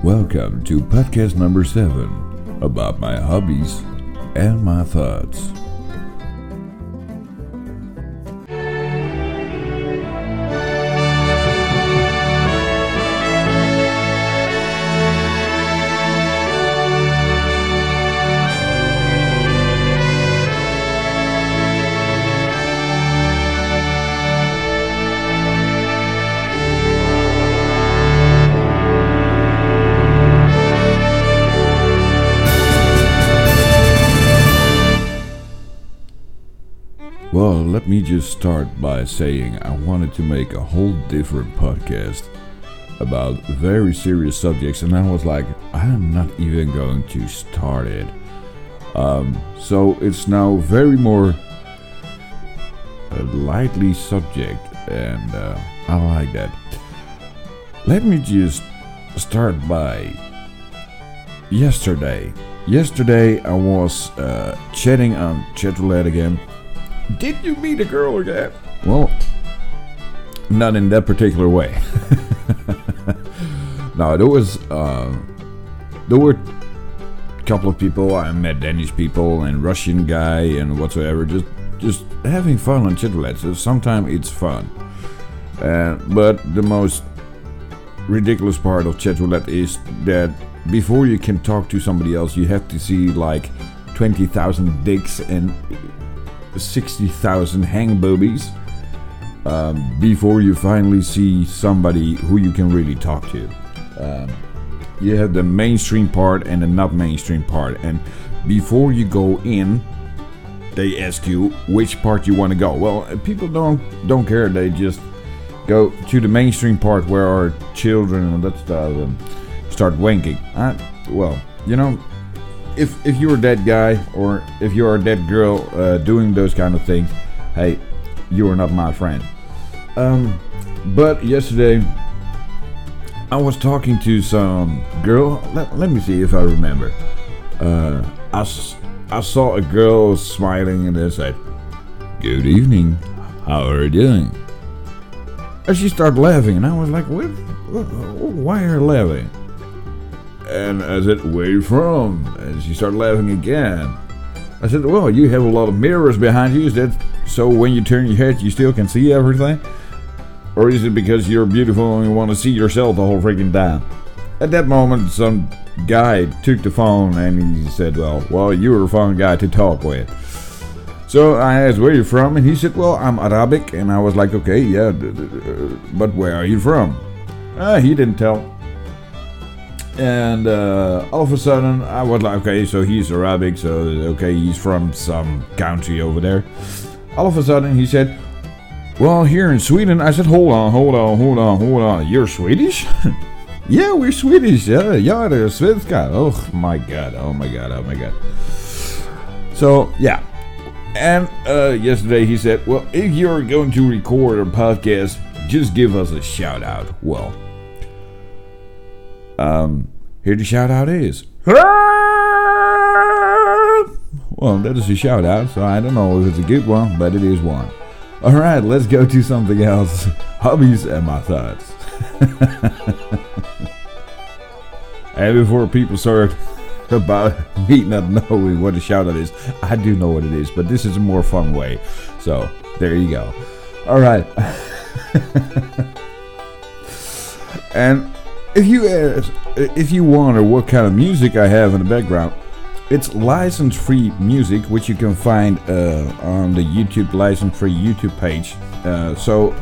Welcome to podcast number 7 about my hobbies and my thoughts. Well, let me just start by saying I wanted to make a whole different podcast about very serious subjects, and I was like, I'm not even going to start it. So it's now very more a lightly subject, and I like that. Let me just start by yesterday. Yesterday I was chatting on Chatroulette again. Did you meet a girl again? Well, not in that particular way. No, there were a couple of people. I met Danish people and Russian guy and whatsoever. Just having fun on Chatroulette. So sometimes it's fun. But the most ridiculous part of Chatroulette is that before you can talk to somebody else, you have to see like 20,000 dicks and 60,000 hang boobies before you finally see somebody who you can really talk to. You have the mainstream part and the not mainstream part, and before you go in, they ask you which part you want to go. Well, people don't care. They just go to the mainstream part where our children and that stuff and start wanking. Well, you know. If you're that guy or if you're that girl doing those kind of things, hey, you are not my friend. But yesterday I was talking to some girl. Let me see if I remember. I saw a girl smiling and they said, "Good evening, how are you doing?" And she started laughing and I was like, what? Why are you laughing? And I said, "Where you from?" And she started laughing again. I said, "Well, you have a lot of mirrors behind you. Is that so when you turn your head you still can see everything? Or is it because you're beautiful and you want to see yourself the whole freaking time?" At that moment, some guy took the phone and he said, well, you're a fun guy to talk with. So I asked, "Where are you from?" And he said, "Well, I'm Arabic." And I was like, "Okay, yeah, but where are you from?" He didn't tell. And all of a sudden I was like, okay, so he's Arabic, so okay, he's from some country over there. All of a sudden he said, "Well, here in Sweden." I said, hold on, you're Swedish?" "Yeah, we're Swedish, yeah, det är svenska." Oh my god. So yeah. And yesterday he said, "Well, if you're going to record a podcast, just give us a shout out." Well, here the shout out is. Well, that is a shout out, so I don't know if it's a good one, but it is one. Alright, let's go to something else. Hobbies and my thoughts. And before people start about me not knowing what a shout out is, I do know what it is, but this is a more fun way. So, there you go. Alright. And if you wonder what kind of music I have in the background, it's license-free music, which you can find on the YouTube license-free YouTube page. So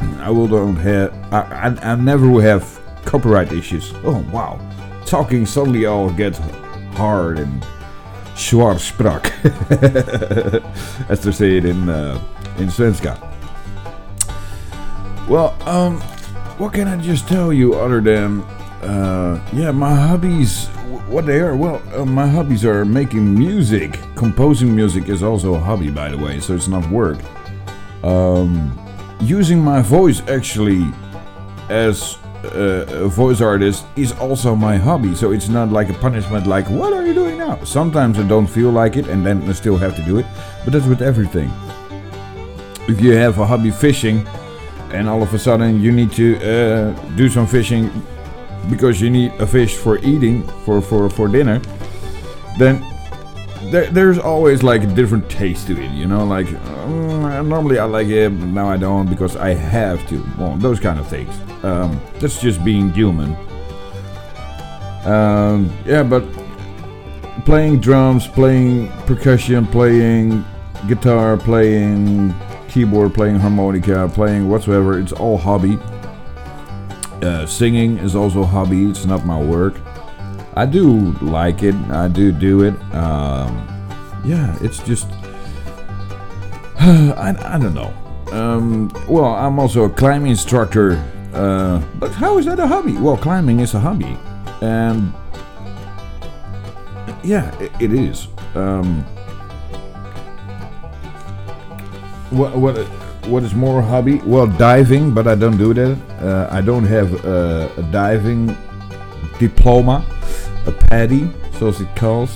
I never will have copyright issues. Oh wow, talking suddenly all gets hard and schwarzsprach, as they say it in Svenska. Well, what can I just tell you other than, my hobbies, what they are? Well, my hobbies are making music. Composing music is also a hobby, by the way, so it's not work. Using my voice, actually, as a voice artist is also my hobby, so it's not like a punishment, like, what are you doing now? Sometimes I don't feel like it, and then I still have to do it, but that's with everything. If you have a hobby fishing, and all of a sudden you need to do some fishing, because you need a fish for eating for dinner, then there's always like a different taste to it, you know, like normally I like it, but now I don't because I have to. Well, those kind of things. That's just being human. Yeah, but playing drums, playing percussion, playing guitar, playing keyboard, playing harmonica, playing whatsoever, it's all hobby. Singing is also a hobby, it's not my work. I do like it, I do it. Yeah, it's just I don't know. Well, I'm also a climbing instructor, but how is that a hobby? Well, climbing is a hobby, and yeah, it is. What is more a hobby? Well, diving, but I don't do that. I don't have a diving diploma, a PADI, so it's called.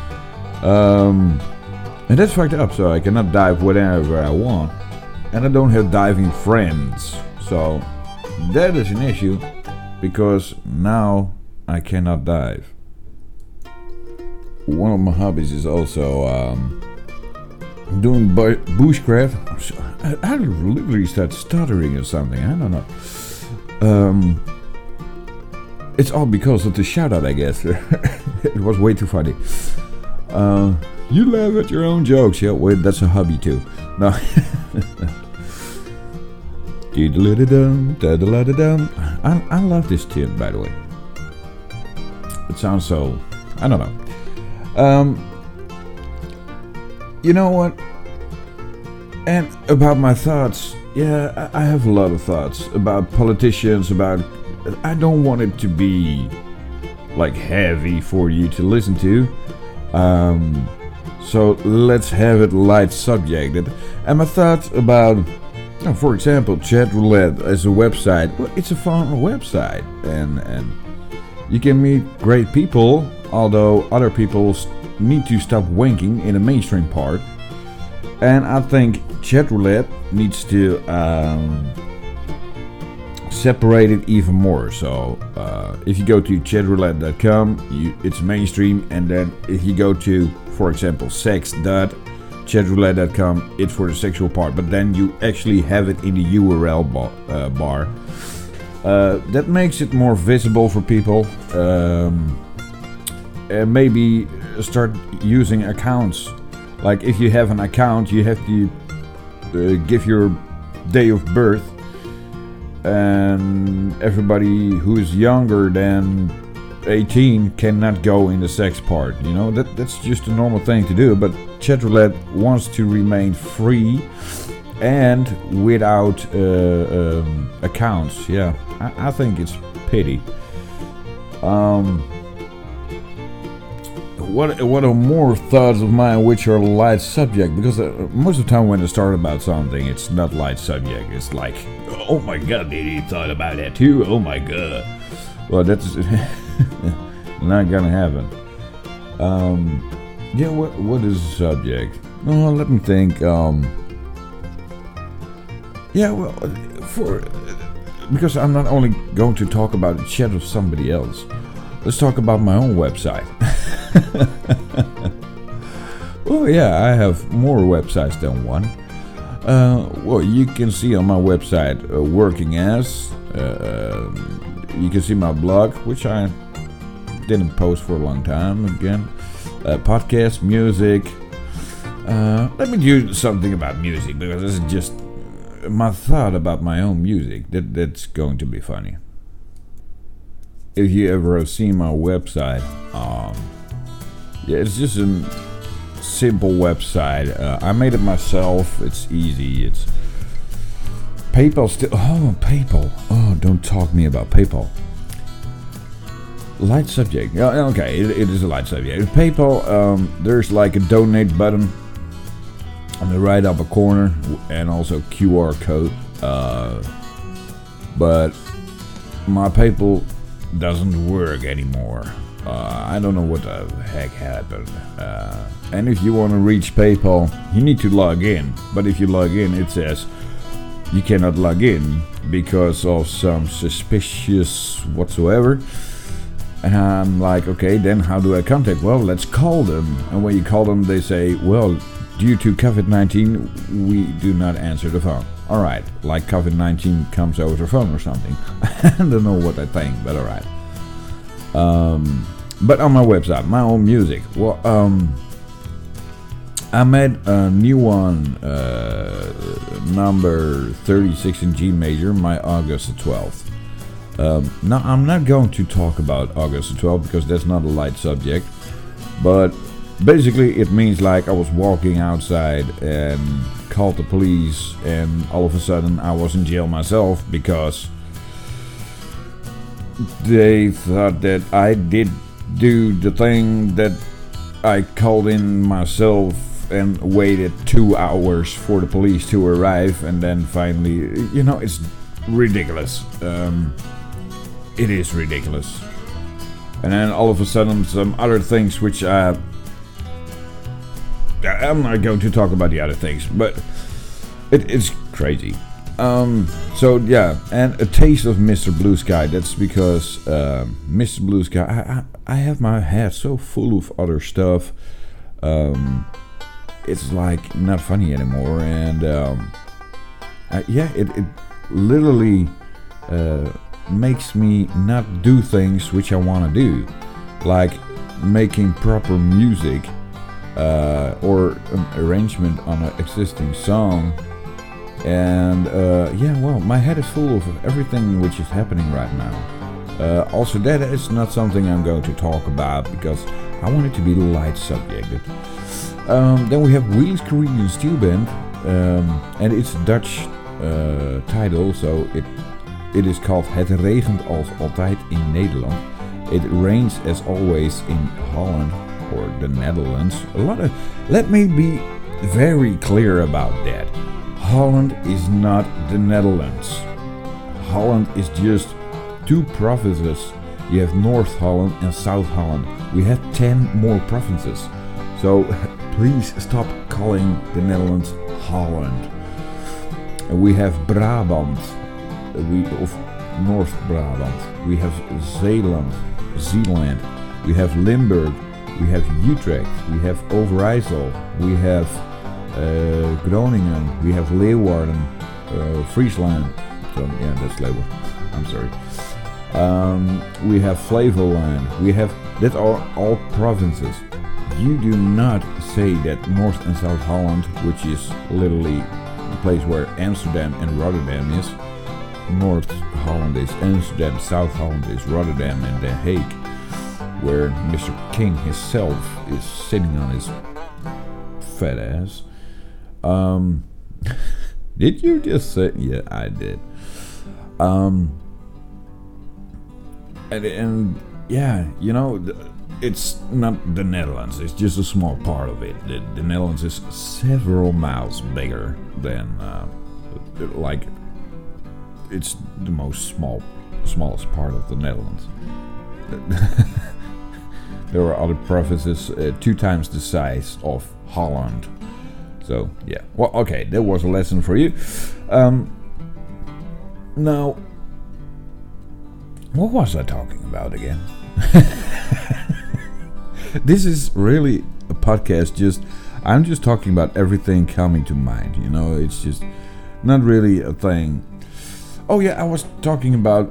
And that's fucked up, so I cannot dive whenever I want. And I don't have diving friends, so that is an issue, because now I cannot dive. One of my hobbies is also doing bushcraft. I literally start stuttering or something, I don't know. It's all because of the shout out, I guess. It was way too funny. You laugh at your own jokes. Yeah, wait, that's a hobby too. No. I love this tune, by the way. It sounds so, I don't know. You know what? And about my thoughts, yeah, I have a lot of thoughts about politicians, about, I don't want it to be like heavy for you to listen to. So let's have it light subjected. And my thoughts about, for example, Chat Roulette as a website. Well, it's a fun website, and you can meet great people, although other people need to stop wanking in the mainstream part. And I think Chat Roulette needs to separate it even more. So if you go to chatroulette.com, it's mainstream, and then if you go to, for example, sex.chatroulette.com, it's for the sexual part, but then you actually have it in the URL bar. That makes it more visible for people. And maybe start using accounts. Like if you have an account, you have to give your day of birth, and everybody who is younger than 18 cannot go in the sex part. You know, that's just a normal thing to do. But Chat Roulette wants to remain free and without accounts. Yeah, I think it's pity. What are more thoughts of mine which are light subject? Because most of the time when I start about something, it's not light subject. It's like, oh my god, did he thought about that too? Oh my god. Well, that's not gonna happen. Yeah, what is the subject? Oh, let me think. Yeah, well, because I'm not only going to talk about the chat of somebody else. Let's talk about my own website. Well, yeah, I have more websites than one. Well, you can see on my website Working As. You can see my blog, which I didn't post for a long time again. Podcast, music. Let me do something about music, because this is just my thought about my own music. That's going to be funny. If you ever have seen my website, yeah, it's just a simple website. I made it myself. It's easy. It's PayPal still. Oh, PayPal. Oh, don't talk to me about PayPal. Light subject. Yeah, okay, it is a light subject. PayPal, there's like a donate button on the right upper corner, and also QR code. But my PayPal doesn't work anymore. I don't know what the heck happened. And if you want to reach PayPal, you need to log in. But if you log in, it says you cannot log in because of some suspicious whatsoever. And I'm like, okay, then how do I contact? Well, let's call them. And when you call them, they say, well, due to COVID-19, we do not answer the phone. Alright, like COVID-19 comes over the phone or something. I don't know what I think, but alright. But on my website, my own music. Well, I made a new one, number 36 in G major, my August the 12th. Now, I'm not going to talk about August the 12th because that's not a light subject. But basically, it means like I was walking outside and called the police, and all of a sudden I was in jail myself because they thought that I did do the thing that I called in myself and waited 2 hours for the police to arrive, and then finally, it's ridiculous. It is ridiculous. And then all of a sudden some other things which I'm not going to talk about the other things, but it's crazy. So yeah, and a taste of Mr. Blue Sky. That's because Mr. Blue Sky, I have my head so full of other stuff. It's like not funny anymore, and it literally makes me not do things which I want to do, like making proper music or an arrangement on an existing song. And my head is full of everything which is happening right now. Also, that is not something I'm going to talk about because I want it to be a light subject. Then we have Wheelies Caribbean Steel Band, and it's a Dutch title, so it is called Het regent als altijd in Nederland. It rains as always in Holland or the Netherlands. Let me be very clear about that. Holland is not the Netherlands. Holland is just 2 provinces. You have North Holland and South Holland. We have 10 more provinces. So please stop calling the Netherlands Holland. And we have Brabant. Of North Brabant. We have Zeeland. We have Limburg. We have Utrecht. We have Overijssel. We have Groningen. We have Leeuwarden. Friesland. So yeah, that's Leeuwarden. I'm sorry. We have Flevoland. That are all provinces. You do not say that North and South Holland, which is literally the place where Amsterdam and Rotterdam is. North Holland is Amsterdam, South Holland is Rotterdam and The Hague, where Mr. King himself is sitting on his fat ass. Did you just say? Yeah, I did. And yeah, it's not the Netherlands. It's just a small part of it. The Netherlands is several miles bigger than it's the smallest part of the Netherlands. There are other provinces 2 times the size of Holland. So yeah, well, okay, that was a lesson for you. Now, what was I talking about again? This is really a podcast. I'm just talking about everything coming to mind. It's just not really a thing. Oh yeah, I was talking about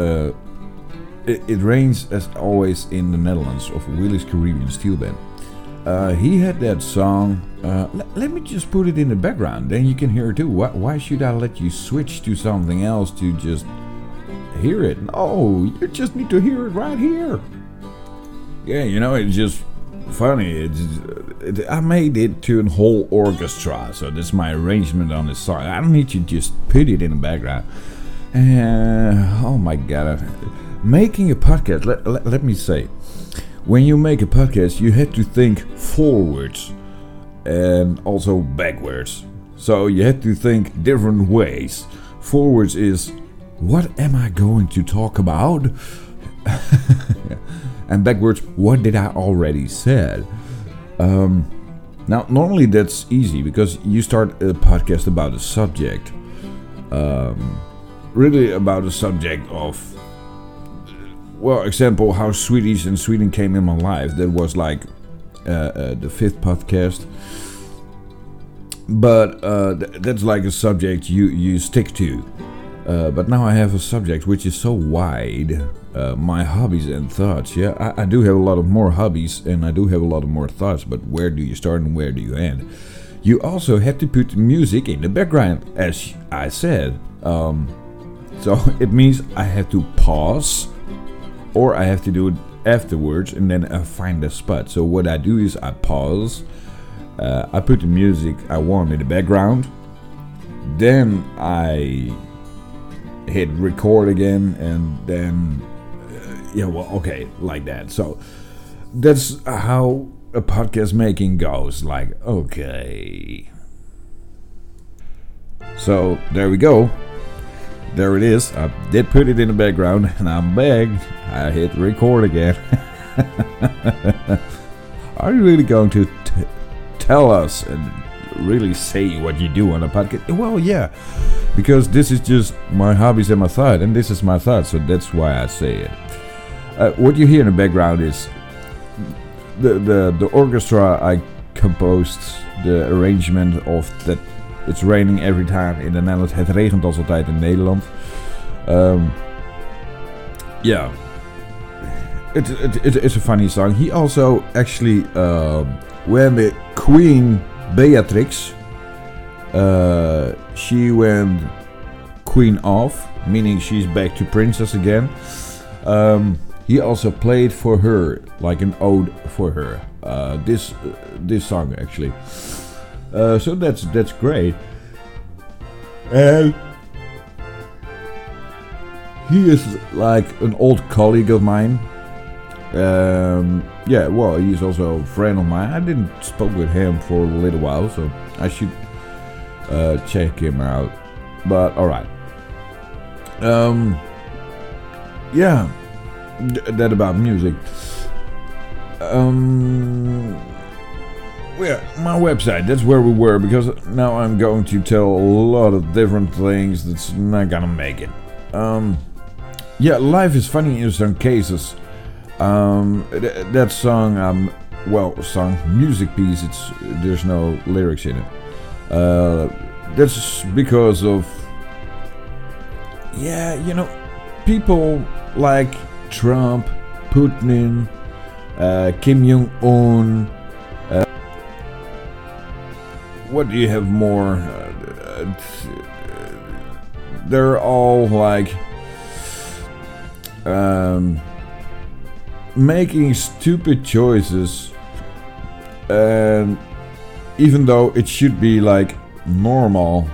it rains as always in the Netherlands of Wheelies Caribbean Steel Band. He had that song. Let me just put it in the background, then you can hear it too. Why should I let you switch to something else to just hear it? No, you just need to hear it right here. Yeah, it's just funny. I made it to a whole orchestra, so that's my arrangement on the song. I don't need to just put it in the background. Oh my god, making a podcast, let me say, when you make a podcast you have to think forwards and also backwards, so you have to think different ways. Forwards is, what am I going to talk about? And backwards, what did I already said? Now normally that's easy because you start a podcast about a subject, really about the subject of, well, example, how Swedish and Sweden came in my life. That was like the 5th podcast. But that's like a subject you stick to. But now I have a subject which is so wide. My hobbies and thoughts. Yeah, I do have a lot of more hobbies and I do have a lot of more thoughts. But where do you start and where do you end? You also have to put music in the background, as I said. So it means I have to pause, or I have to do it afterwards, and then I find a spot. So what I do is I pause. I put the music I want in the background. Then I hit record again, and then like that. So that's how a podcast making goes. Like, okay. So there we go. There it is. I did put it in the background, and I'm back. I hit record again. Are you really going to tell us and really say what you do on a podcast? Well, yeah, because this is just my hobbies and my thought, and this is my thought, so that's why I say it. What you hear in the background is the orchestra I composed, the arrangement of that. It's raining every time in the Netherlands. Het regent als altijd in Nederland. Yeah, it's a funny song. He also actually, when the Queen Beatrix, she went queen off, meaning she's back to princess again. He also played for her, like an ode for her. This song actually. So that's great. And he is like an old colleague of mine. Yeah, well, he's also a friend of mine. I didn't spoke with him for a little while, so I should check him out. But alright. Yeah, that about music. Yeah, my website, that's where we were, because now I'm going to tell a lot of different things that's not gonna make it. Yeah, life is funny in some cases. That song, music piece, there's no lyrics in it. That's because of, people like Trump, Putin, Kim Jong-un. What do you have more? They're all like making stupid choices, and even though it should be like normal,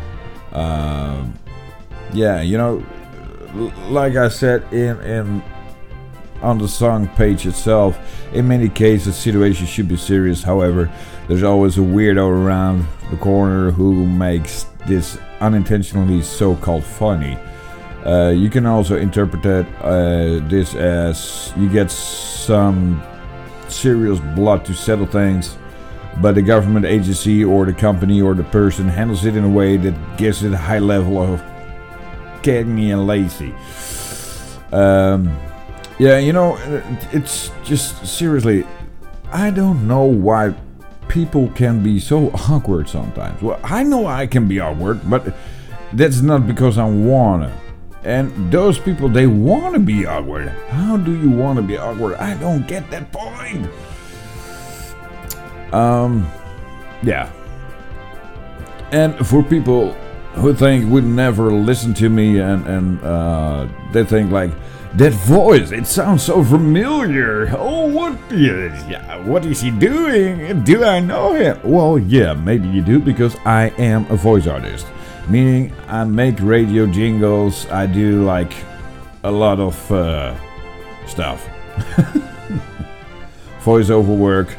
like I said in on the song page itself, in many cases situations should be serious. However, there's always a weirdo around the corner who makes this unintentionally so-called funny. You can also interpret this as you get some serious blood to settle things, but the government agency or the company or the person handles it in a way that gives it a high level of canny and lazy. It's just seriously, I don't know why people can be so awkward sometimes. Well, I know I can be awkward, but that's not because I wanna. And those people, they wanna be awkward. How do you wanna be awkward? I don't get that point. Yeah. And for people who would never listen to me and they think like, that voice, it sounds so familiar. Oh, what is he doing? Do I know him? Well, yeah, maybe you do, because I am a voice artist. Meaning I make radio jingles, I do like a lot of stuff. Voiceover work.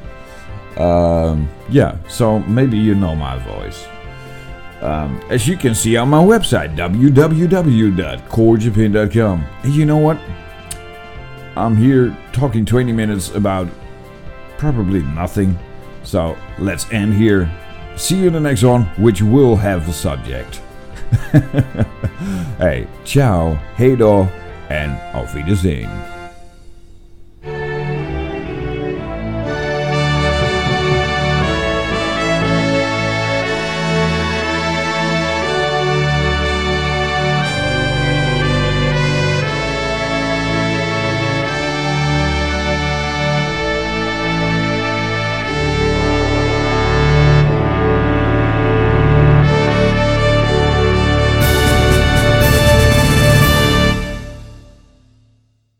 Yeah, so maybe you know my voice. As you can see on my website, www.corejapan.com. And you know what? I'm here talking 20 minutes about probably nothing. So let's end here. See you in the next one, which will have a subject. Hey, ciao, hey då en auf Wiedersehen.